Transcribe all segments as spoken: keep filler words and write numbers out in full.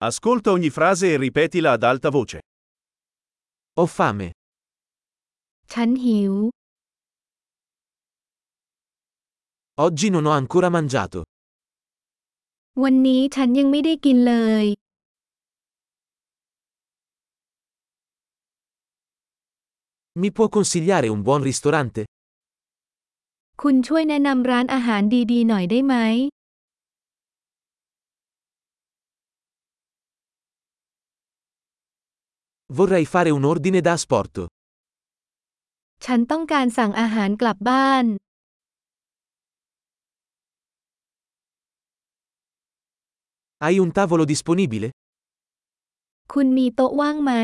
Ascolta ogni frase e ripetila ad alta voce. Ho fame. ฉันหิว Oggi non ho ancora mangiato. วันนี้ฉันยังไม่ได้กินเลย Mi può consigliare un buon ristorante? คุณช่วยแนะนำร้านอาหารดีๆหน่อยได้ไหม Vorrei fare un ordine da asporto. ฉันต้องการสั่งอาหารกลับบ้าน Hai un tavolo disponibile? คุณมีโต๊ะว่างไหม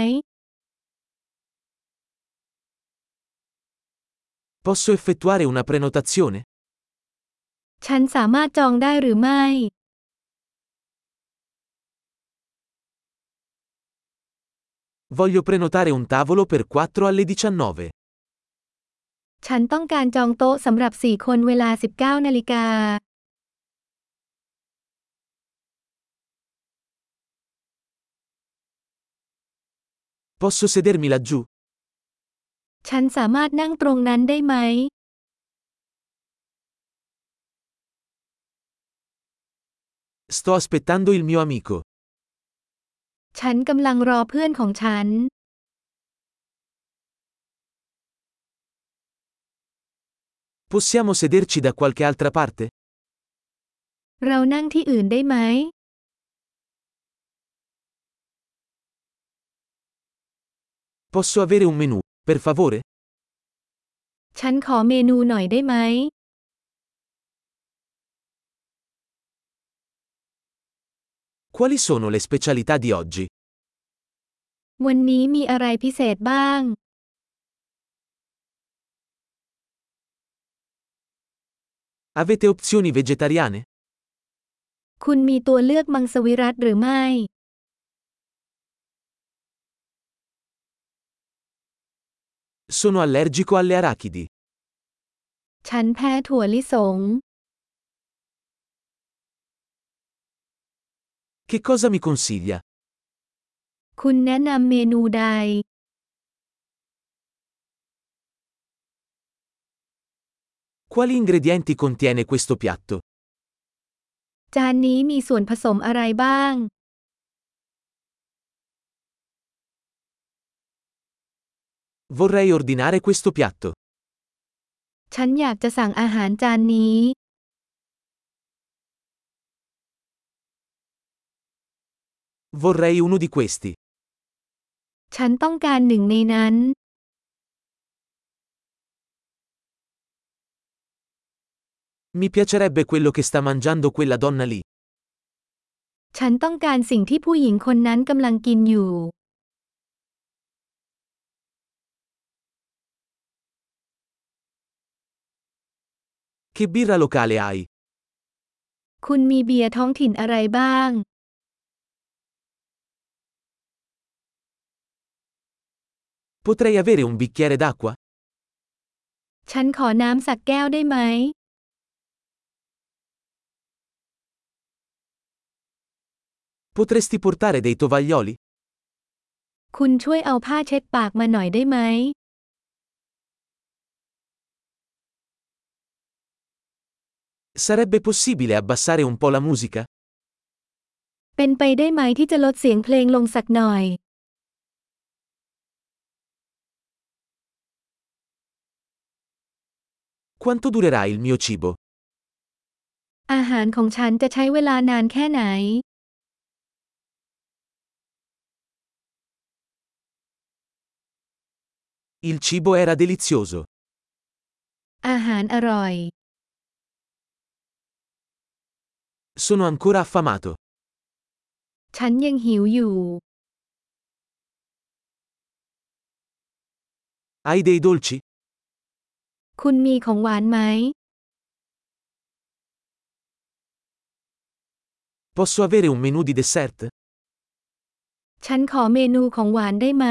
Posso effettuare una prenotazione? ฉันสามารถจองได้หรือไม่ Voglio prenotare un tavolo per quattro alle diciannove. ฉันต้องการจองโต๊ะสำหรับสี่คนเวลา สิบเก้า นาฬิกา Posso sedermi laggiù? ฉันสามารถนั่งตรงนั้นได้ไหม Sto aspettando il mio amico. ฉันกำลังรอเพื่อนของฉัน Possiamo sederci da qualche altra parte? เรานั่งที่อื่นได้ไหม Posso avere un menù, per favore? ฉันขอเมนูหน่อยได้ไหม Quali sono le specialità di oggi? วันนี้มีอะไรพิเศษบ้าง Avete opzioni vegetariane? คุณมีตัวเลือกมังสวิรัติหรือไม่ Sono allergico alle arachidi. ฉันแพ้ถั่วลิสง Che cosa mi consiglia? คุณแนะนำเมนูใด Quali ingredienti contiene questo piatto? จานนี้มีส่วนผสมอะไรบ้าง Vorrei ordinare questo piatto. ฉันอยากจะสั่งอาหารจานนี้ Vorrei uno di questi. ฉันต้องการหนึ่งในนั้น Mi piacerebbe quello che sta mangiando quella donna lì. ฉันต้องการสิ่งที่ผู้หญิงคนนั้นกำลังกินอยู่ Che birra locale hai? คุณมีเบียร์ท้องถิ่นอะไรบ้าง Potrei avere un bicchiere d'acqua? ฉันขอน้ำสักแก้วได้ไหม Potresti portare dei tovaglioli? คุณช่วยเอาผ้าเช็ดปากมาหน่อยได้ไหม Sarebbe possibile abbassare un po' la musica? เป็นไปได้ไหมที่จะลดเสียงเพลงลงสักหน่อย Quanto durerà il mio cibo? อาหารของฉันจะใช้เวลานานแค่ไหน Il cibo era delizioso. อาหารอร่อย Sono ancora affamato. ฉันยังหิวอยู่ Hai dei dolci? คุณมีของหวานไหม Posso avere un menù di dessert? ฉันขอเมนูของหวานได้ไหม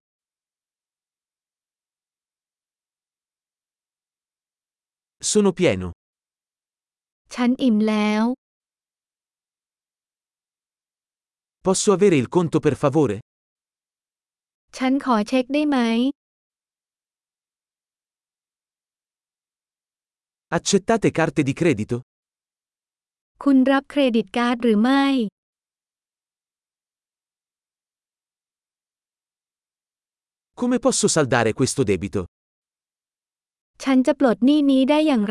Sono pieno. ฉันอิ่มแล้ว Posso avere il conto per favore? ฉันขอเช็คได้ไหม Accettate carte di credito? คุณรับเครดิตการ์ดหรือไม่ Come posso saldare questo debito? ฉันจะปลดหนี้นี้ได้อย่างไร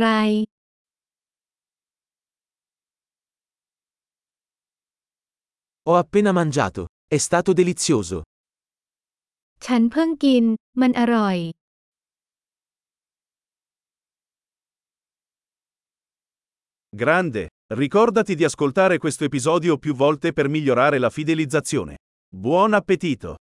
Ho appena mangiato. È stato delizioso. ฉันเพิ่งกิน มันอร่อย Grande! Ricordati di ascoltare questo episodio più volte per migliorare la fidelizzazione. Buon appetito!